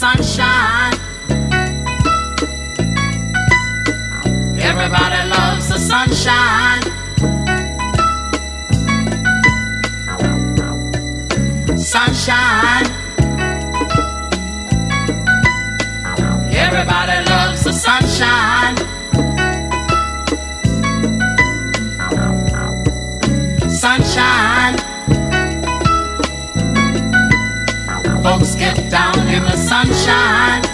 sunshine. Everybody loves the sunshine. Sunshine. Everybody loves the sunshine. Sunshine. Folks get down in the sunshine.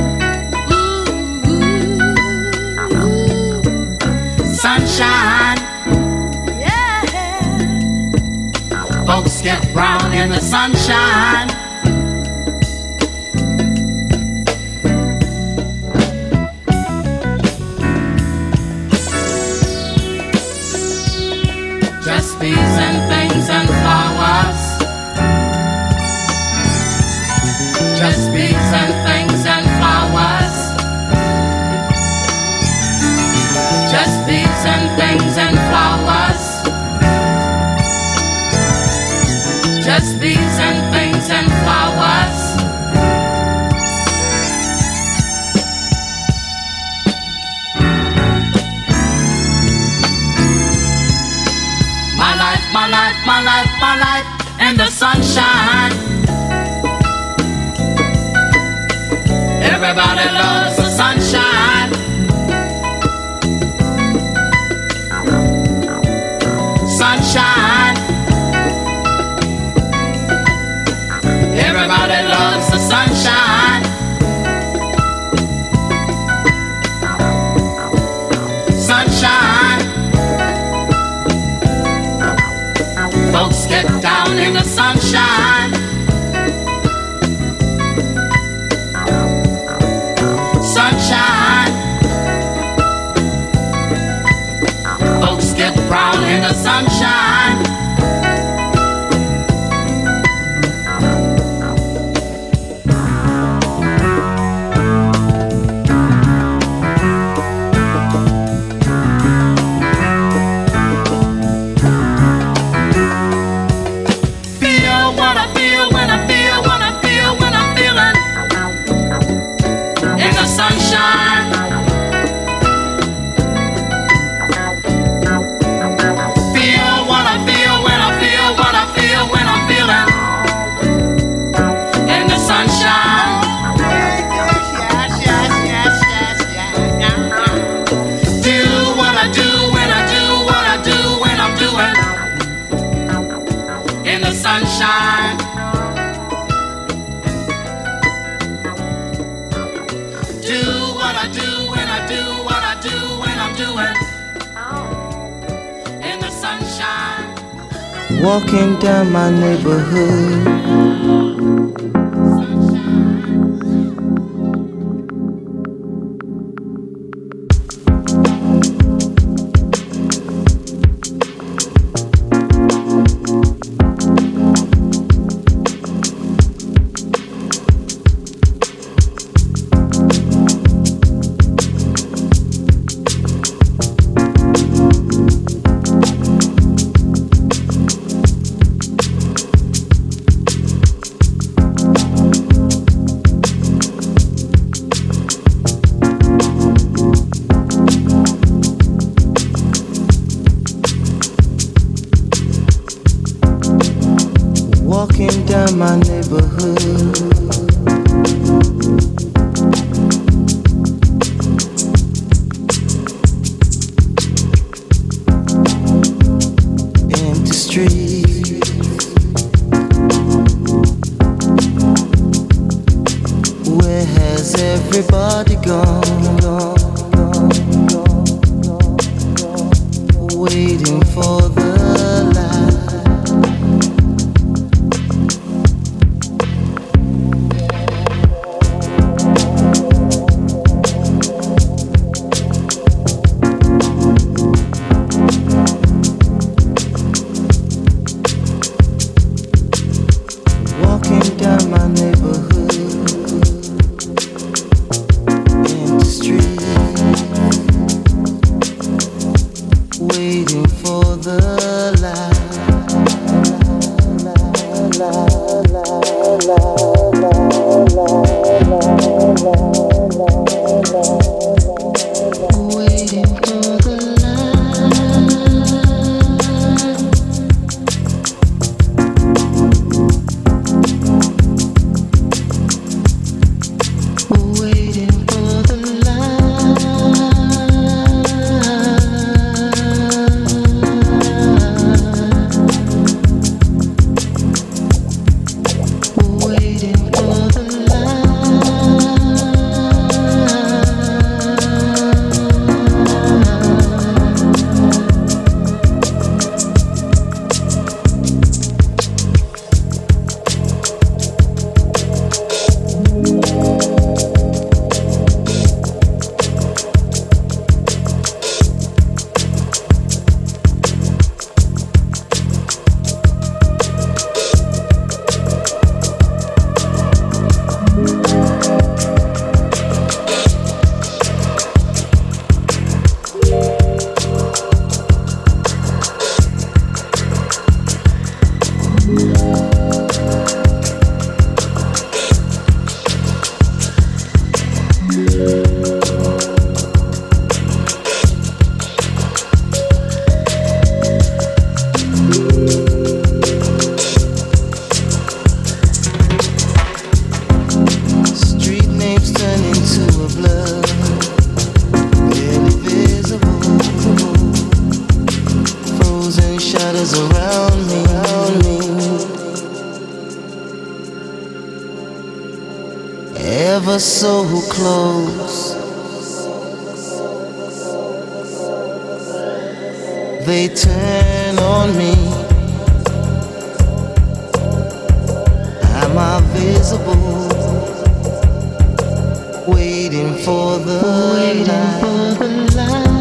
Sunshine. Yeah. Folks get brown in the sunshine. Just bees and things and flowers. Just bees and things and flowers. Just bees and things and flowers. Just bees and things and flowers. My life, my life, my life, my life in the sunshine. Everybody loves the sunshine. Sunshine. Everybody loves the sunshine. Sunshine. Folks get down in the sunshine. Sunshine. Folks get brown in the sunshine. Feel what I feel when I feel what I feel when I'm feeling in the sunshine. Feel what I feel when I feel what I feel when I'm feeling in the sunshine. Do what I do when I do what I do when I'm doing in the sunshine. Do what I do when I do what I do when I'm doing in the sunshine. Walking down my neighborhood, walking down my neighborhood. Empty streets, where has everybody gone? Waiting for the light. Walking down my neighborhood, empty streets, waiting for the light. So close, they turn on me. Am I visible? Waiting for the light.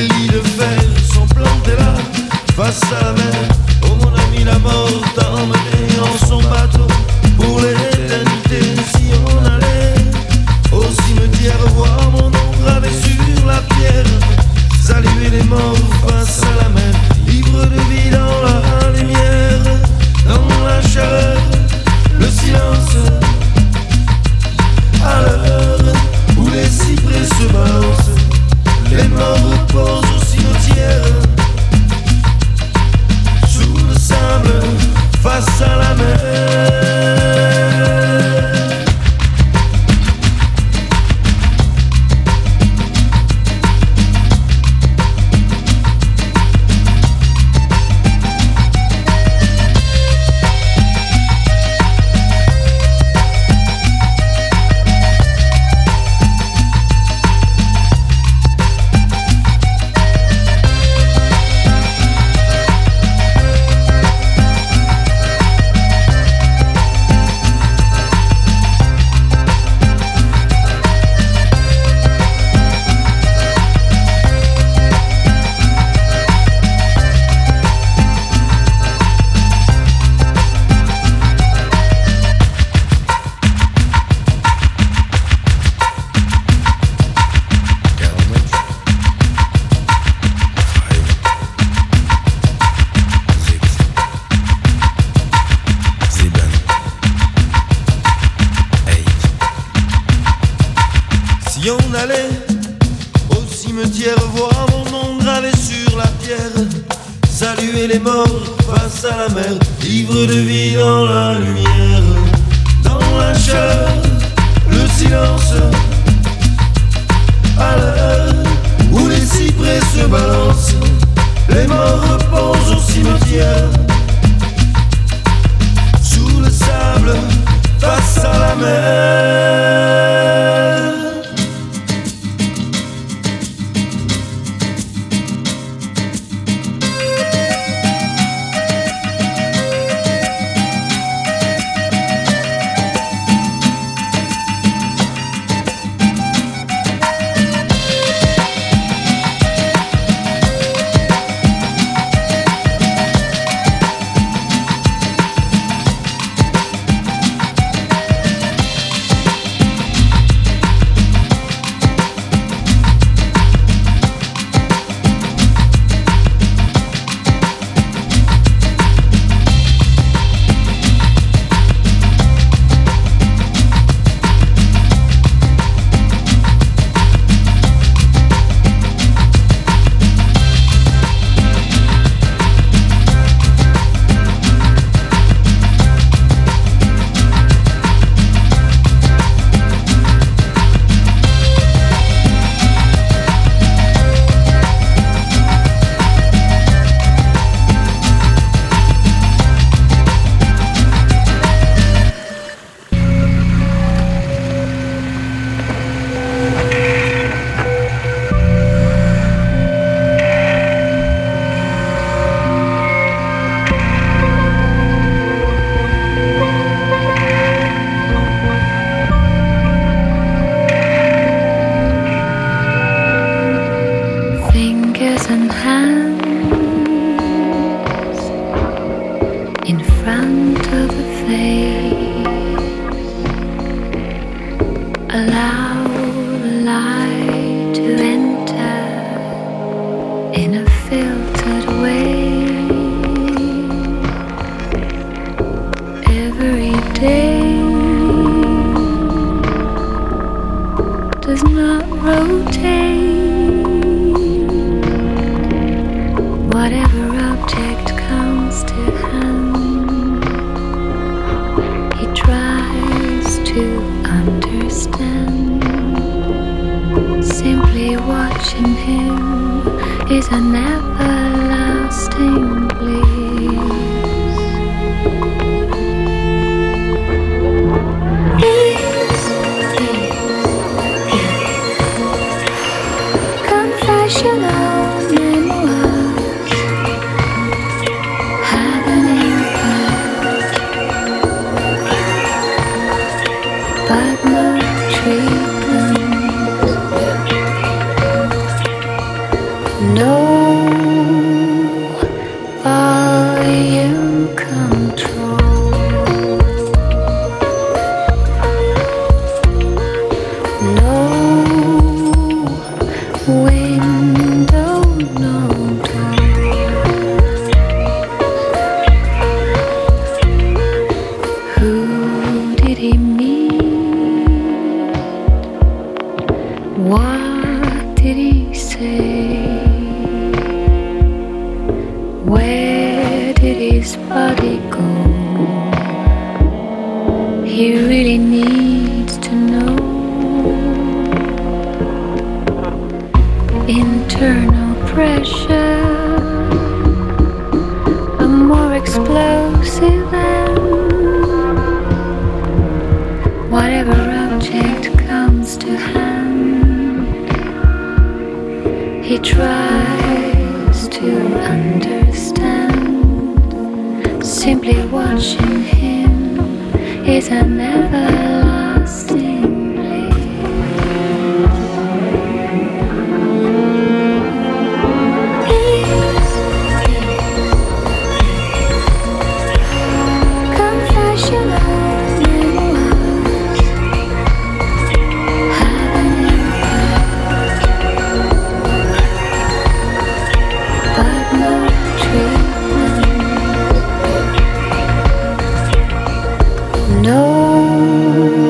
Les lits de fer sont plantés là, face à la mer. Oh mon ami, la mort t'a emmené en son bateau pour l'éternité. Si on allait au cimetière voir mon nom gravé sur la pierre, saluer les morts face à la mer, ivre de vie dans la lumière, dans la chaleur, le silence, à l'heure où les cyprès se balancent, les morts reposent au cimetière, sous le sable, face à la mer. Si on allait au cimetière voir mon nom gravé sur la pierre, saluer les morts face à la mer, ivre de vie dans la lumière, dans la chaleur, le silence, à l'heure où les cyprès se balancent, les morts reposent au cimetière, sous le sable, face à la mer. No volume control. No window, no door. Who did he meet? What did he say? Where did his body go? He really needs to know. Internal pressure, a more explosive than whatever object comes to hand. He tries to understand. Simply watching him is an everlasting no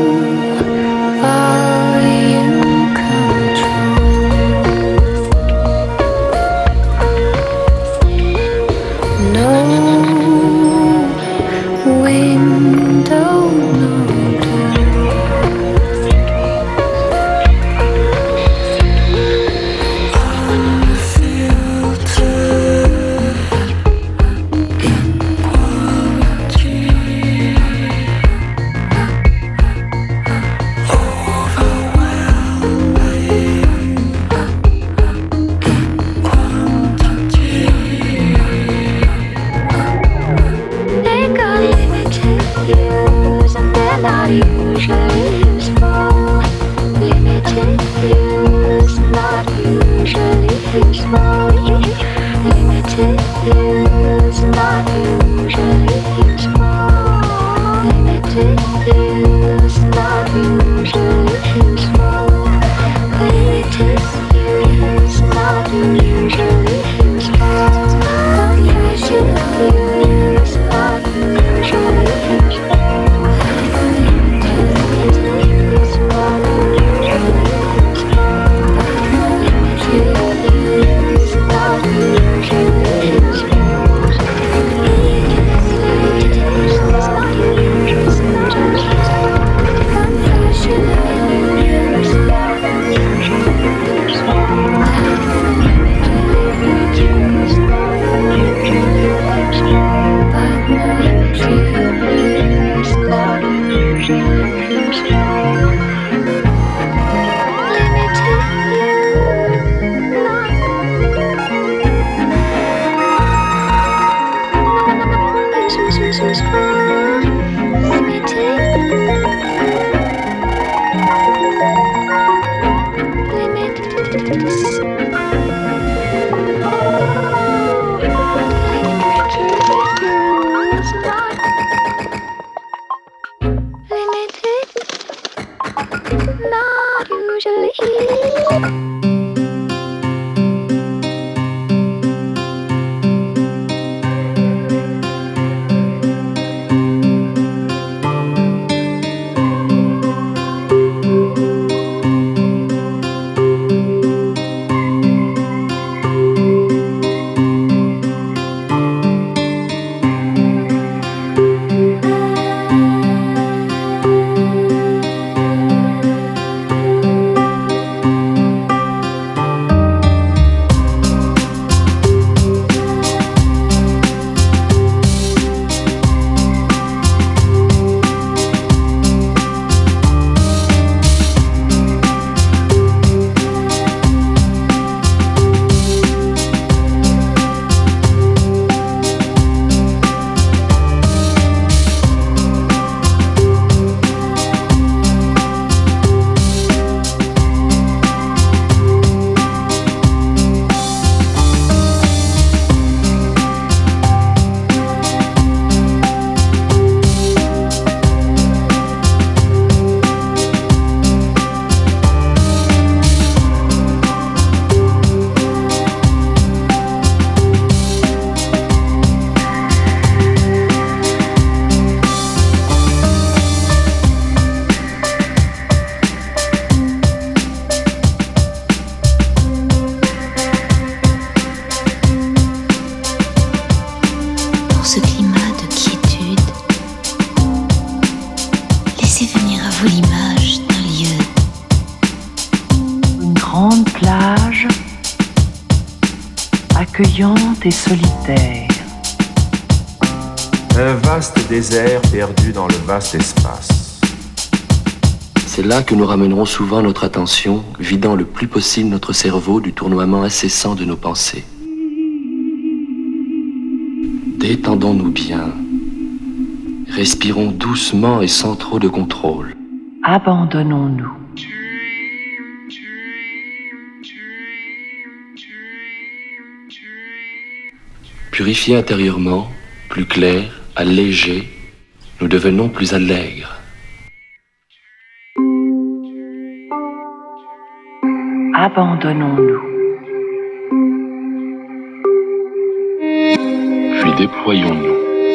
accueillante et solitaire. Un vaste désert perdu dans le vaste espace. C'est là que nous ramènerons souvent notre attention, vidant le plus possible notre cerveau du tournoiement incessant de nos pensées. Détendons-nous bien. Respirons doucement et sans trop de contrôle. Abandonnons-nous. Purifiés intérieurement, plus clairs, allégés, nous devenons plus allègres. Abandonnons-nous. Puis déployons-nous.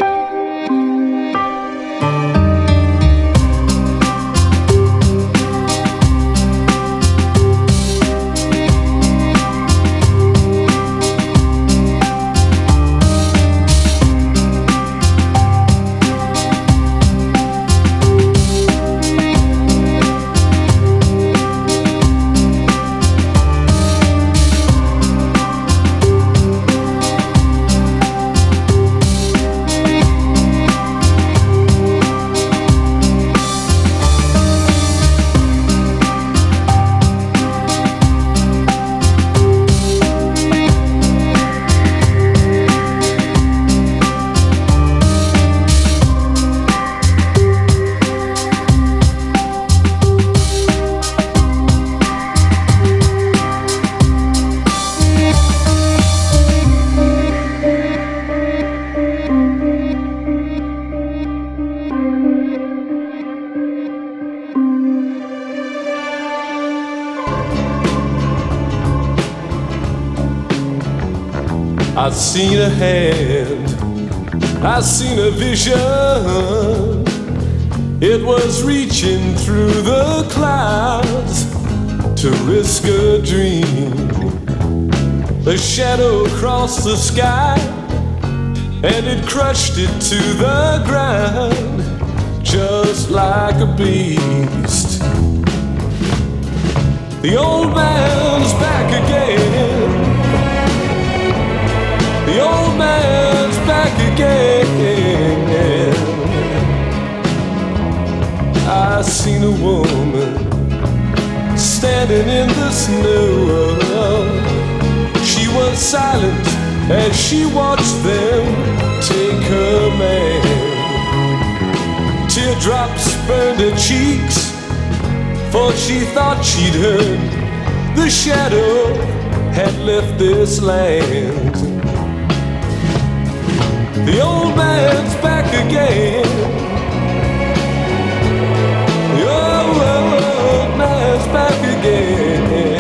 I've seen a hand, I've seen a vision. It was reaching through the clouds to risk a dream. A shadow crossed the sky and it crushed it to the ground just like a beast. The old man's back again. The old man's back again. I seen a woman standing in the snow. She was silent as she watched them take her man. Teardrops burned her cheeks, for she thought she'd heard the shadow had left this land. The old man's back again. The old man's back again.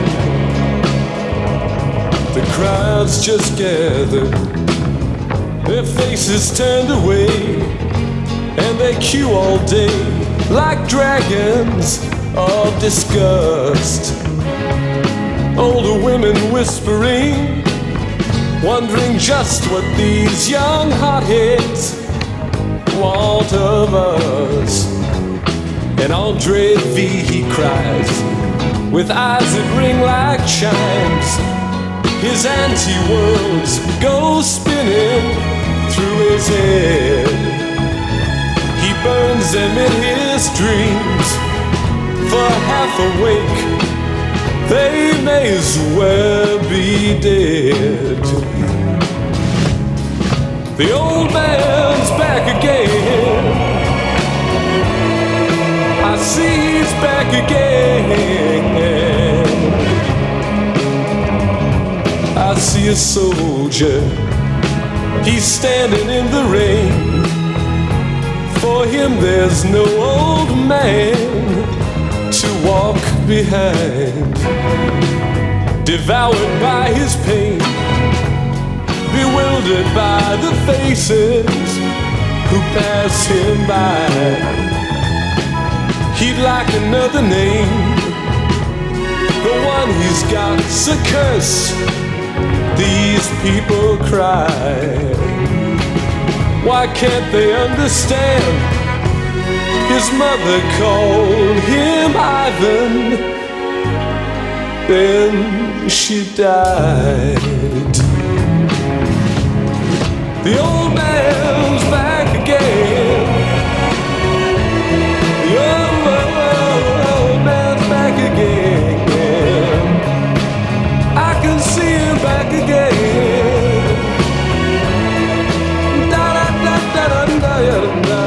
The crowds just gathered, their faces turned away, and they queue all day like dragons of disgust. Older women whispering, wondering just what these young hotheads want of us. And Andre V, he cries, with eyes that ring like chimes. His anti-worlds go spinning through his head. He burns them in his dreams, for half awake they may as well be dead. The old man's back again. I see he's back again. I see a soldier, he's standing in the rain. For him there's no old man to walk behind. Devoured by his pain, bewildered by the faces who pass him by. He'd like another name, the one he's got's a curse. These people cry. Why can't they understand? His mother called him Ivan, then she died. The old man's back again. The old man's back again. I can see him back again. Da da da da da da da da.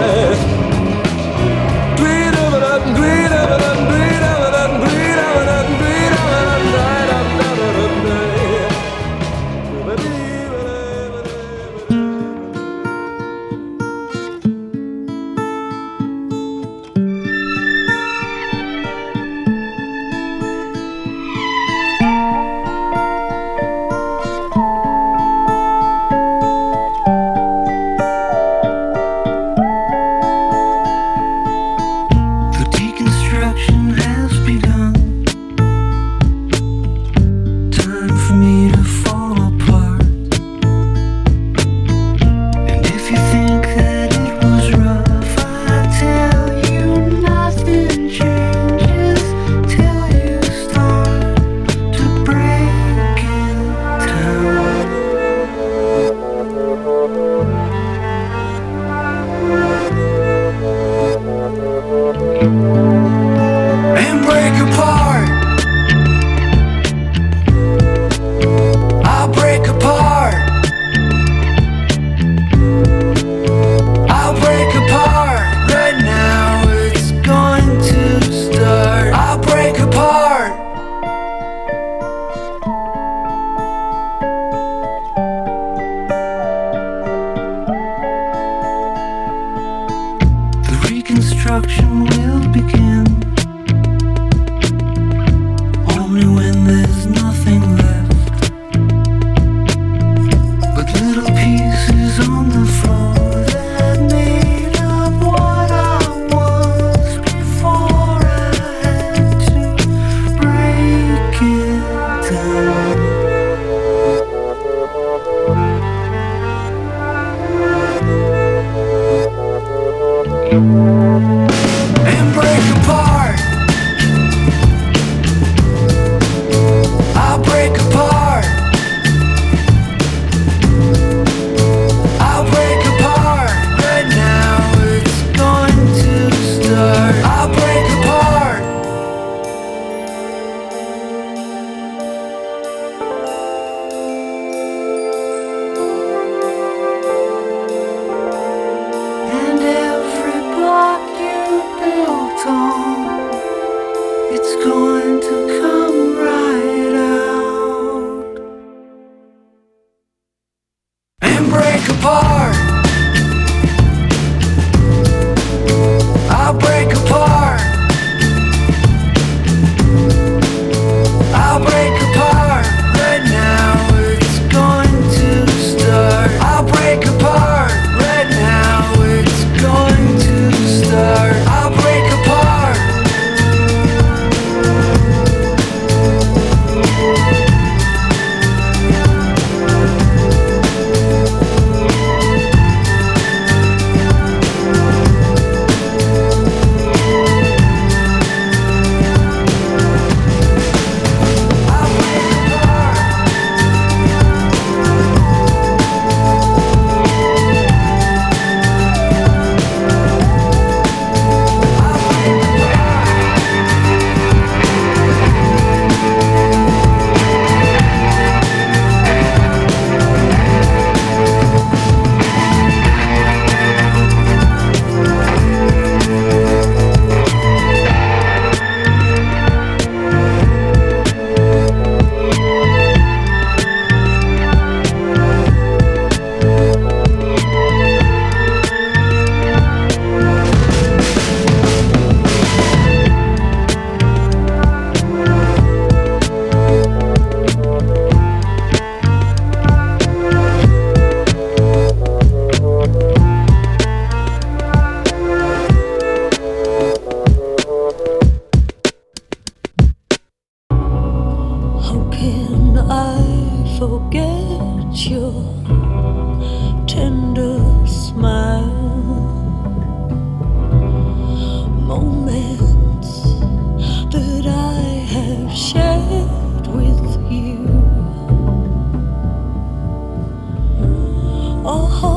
Oh.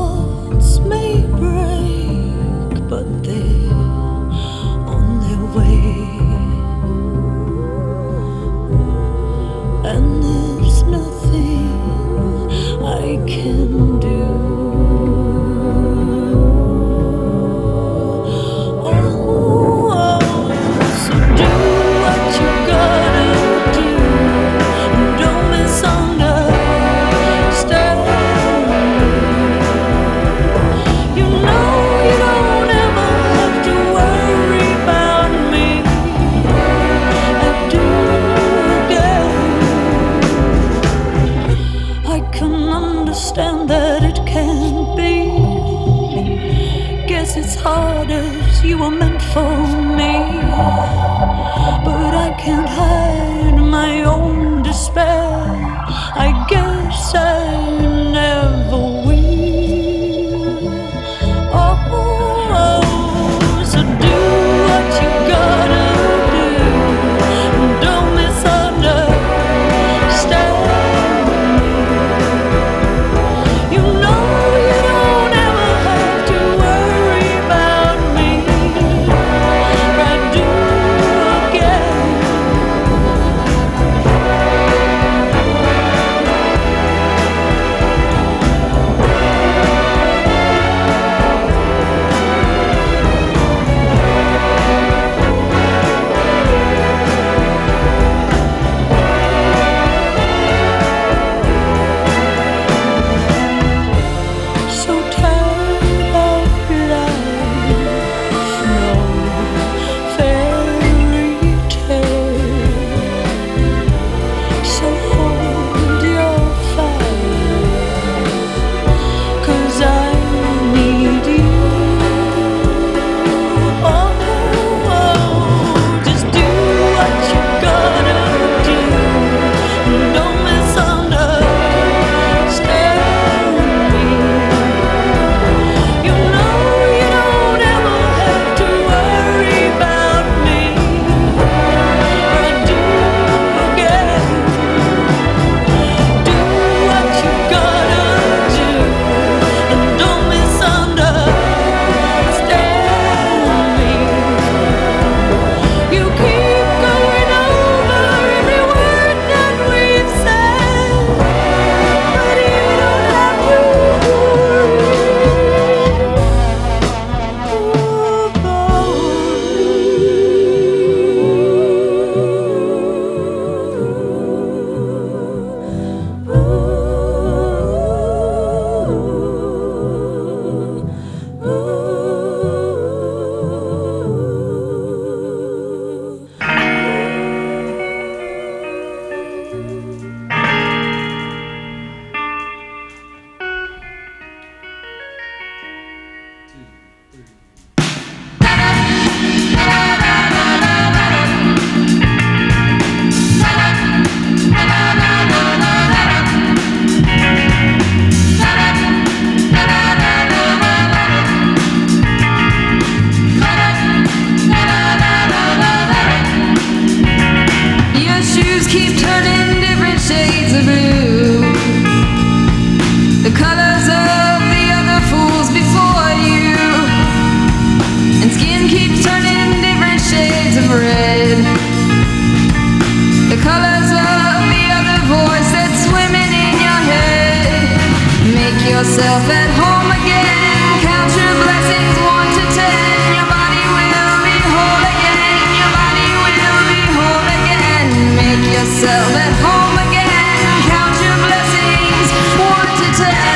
understand that it can't be. Guess it's hard as you were meant for me. But I can't hide my own despair. I guess I never will. Oh, so do what you gotta do. Don't misunderstand. You know you don't ever have to worry about me. I do again. So tired of life, no fairy tale. So hold your fire, 'cause I need you. Oh, just do what you gotta do. Don't misunderstand me. You know you don't ever have to worry about me. I do again. Do what you gotta do, and don't misunderstand me. You keep going over every word that we've said, but you don't have to Your shoes keep turning different shades of blue, the colors of the other fools before you, and skin keeps turning different shades of red, the colors of the other voice that's swimming in your head. Make yourself at home again, count your blessings 1 to 10. Your body will be whole again, your body will be whole again. Make yourself at home again, count your blessings 1 to 10.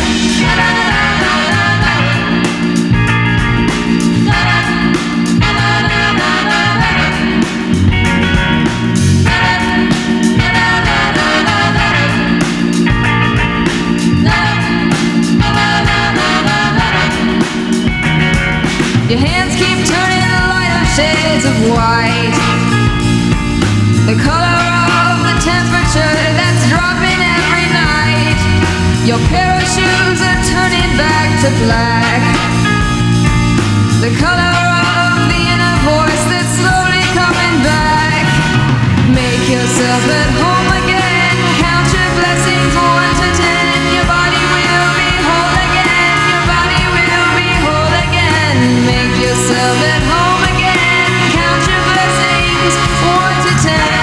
Your hands keep turning lighter shades of white, the color of the temperature that's dropping every night. Your pair of shoes are turning back to black, the color of the inner voice that's slowly coming back. Make yourself at home again, count your blessings 1 to 10. Your body will be whole again, your body will be whole again. Make yourself at home again, count your blessings 1 to 10.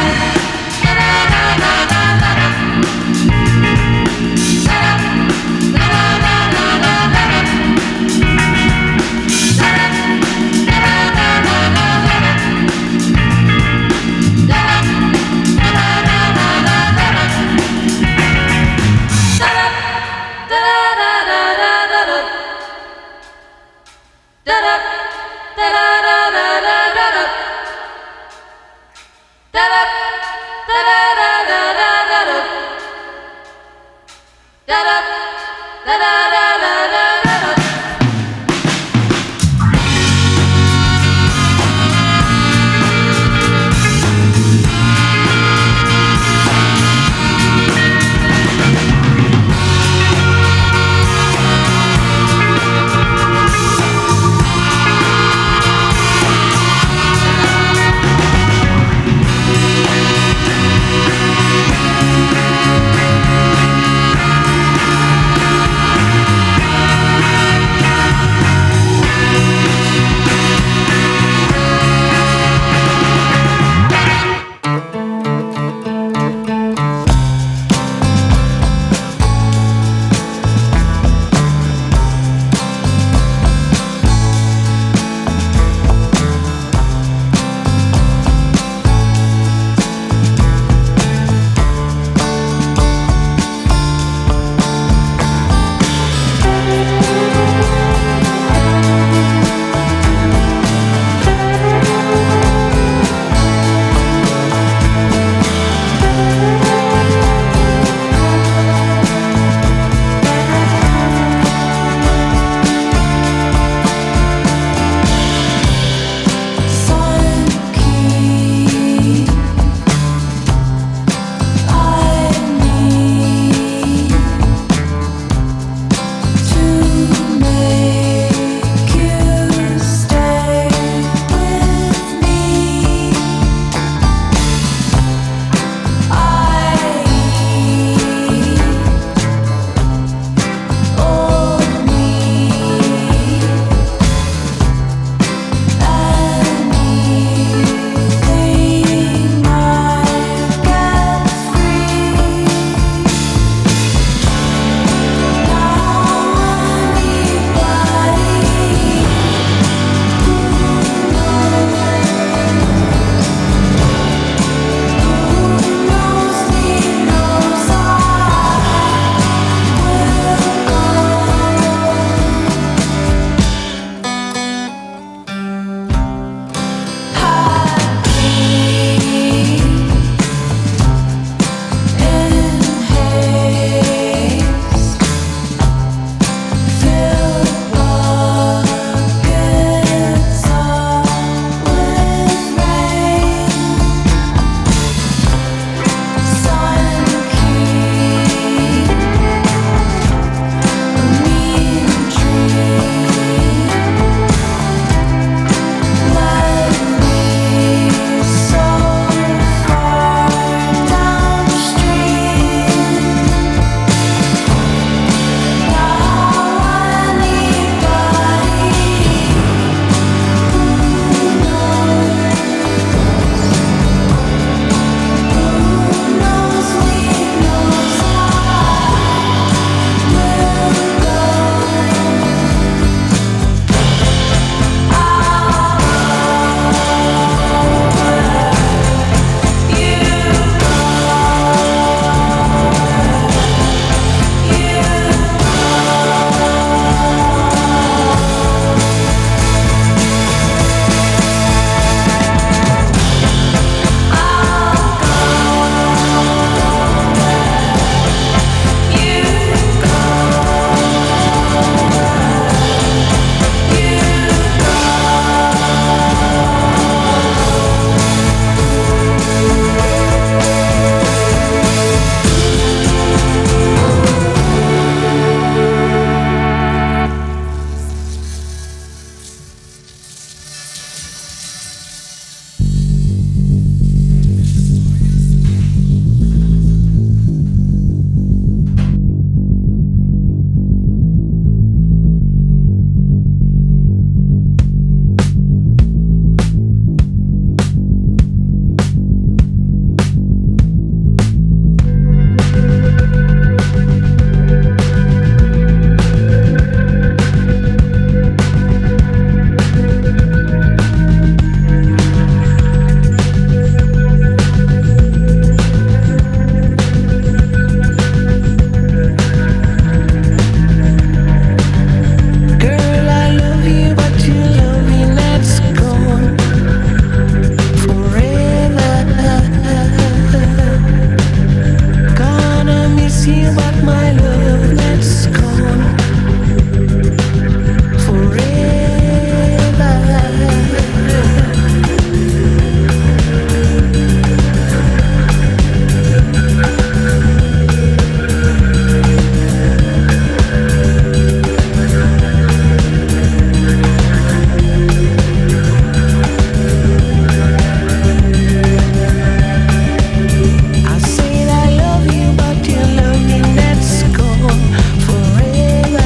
I said I love you, but your loving that's gone forever.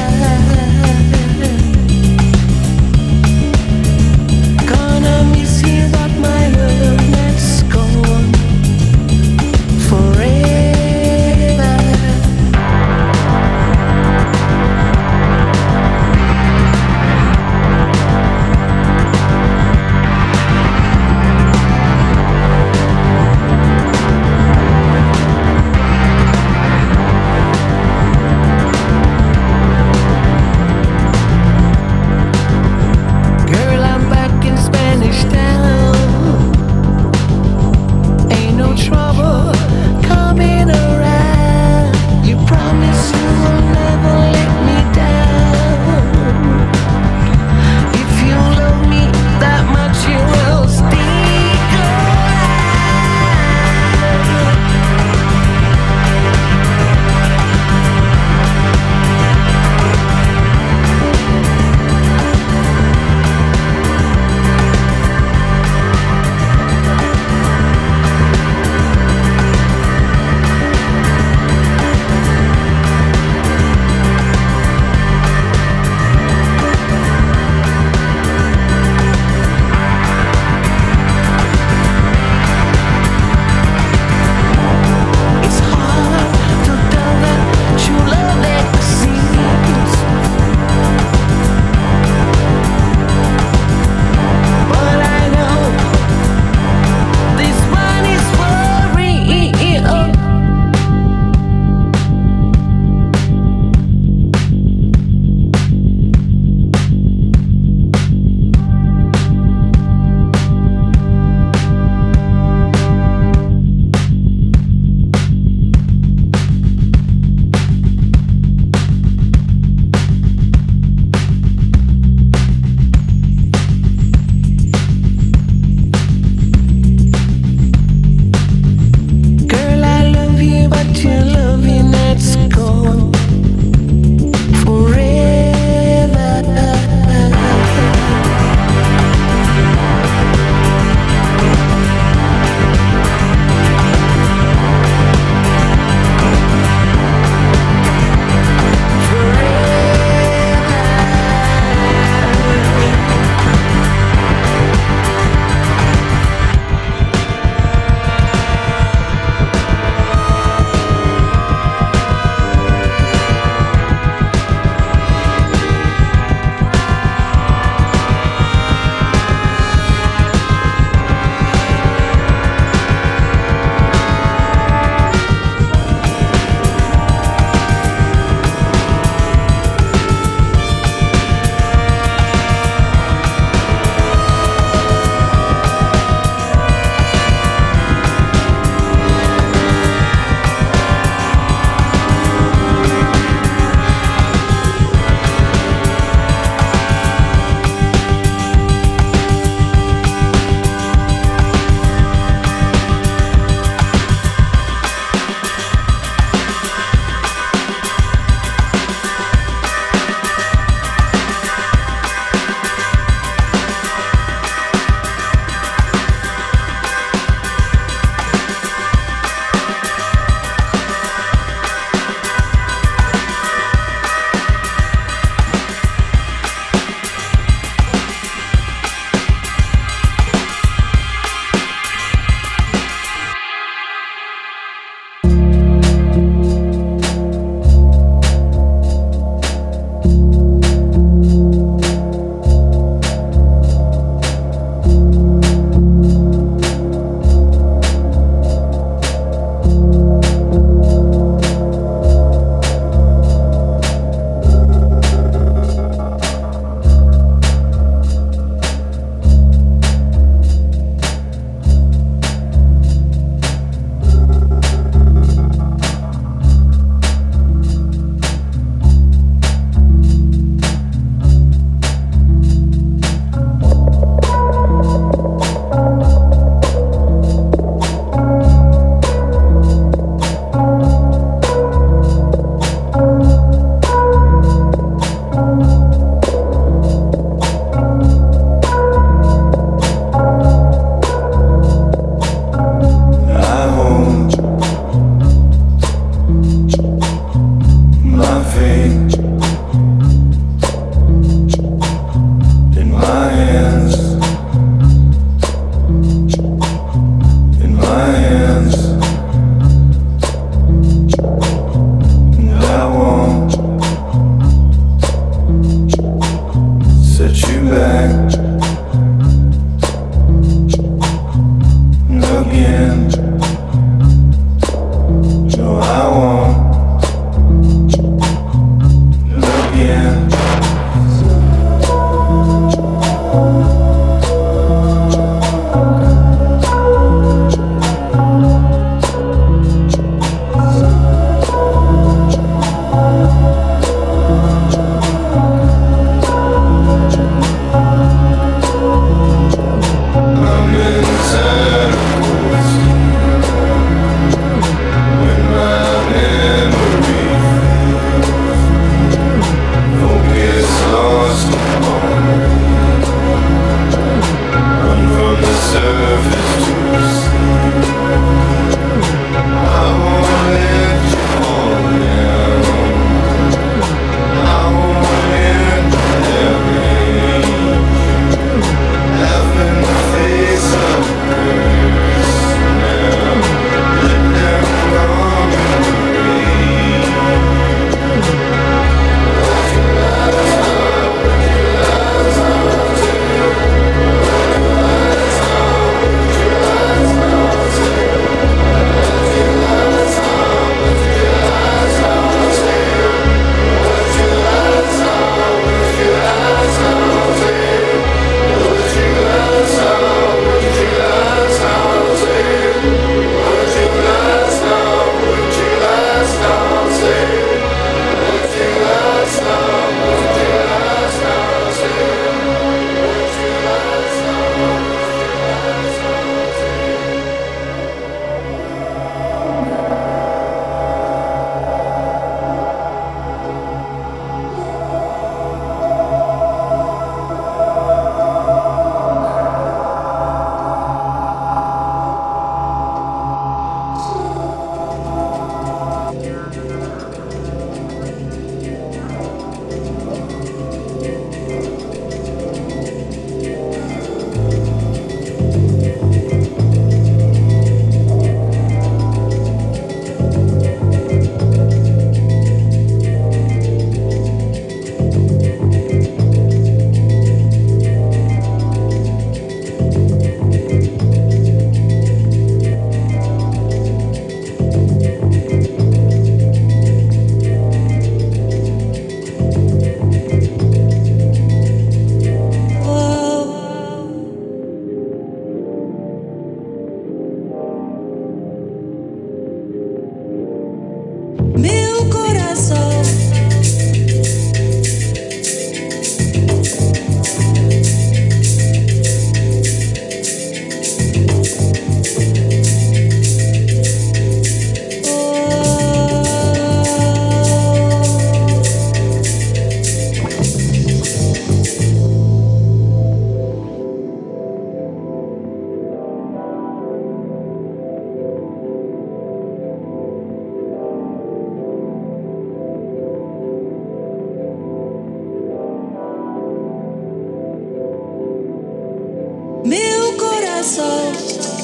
coração.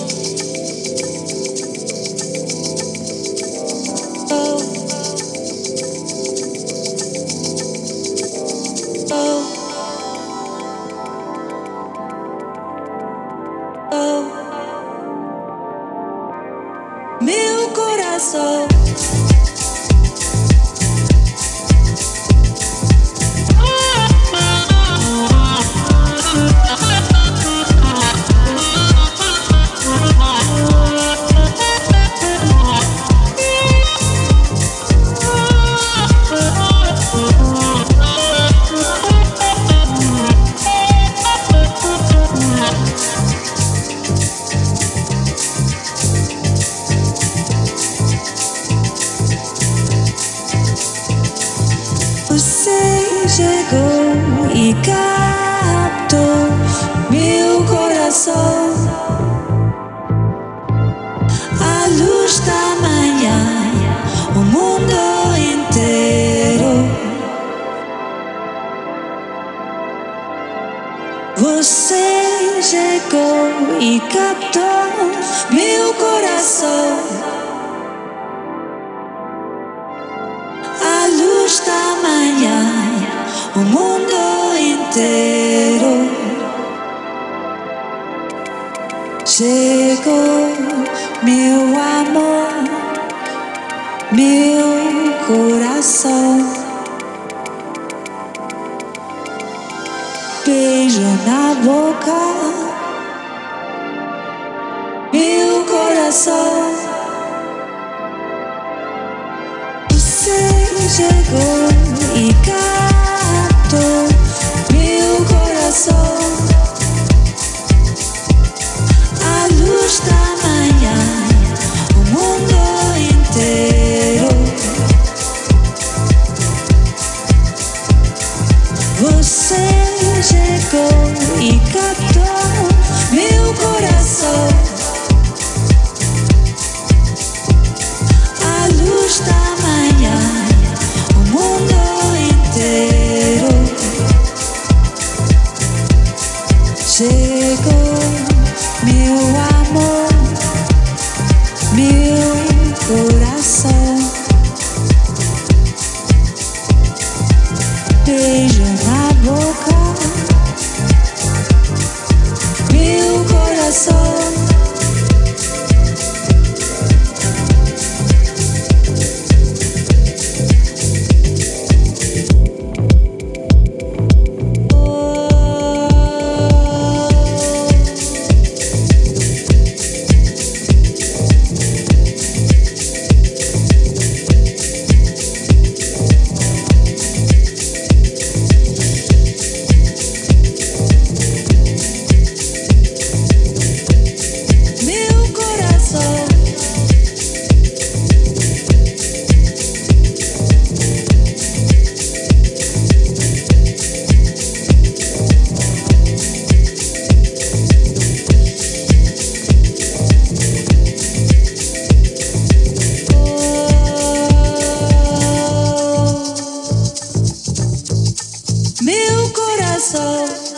Oh. Oh. Oh. Meu coração. Você chegou e captou meu coração. A luz da manhã, o mundo inteiro. Você chegou e captou meu coração. A luz da manhã, o mundo inteiro. Chegou meu amor, meu coração. Beijo na boca, meu coração. Você chegou e captou meu coração. A luz da manhã, o mundo inteiro. Você chegou e captou meu coração. A luz da manhã, o mundo inteiro. Chegou meu amor, meu coração. Beijo na boca, meu coração. Meu coração.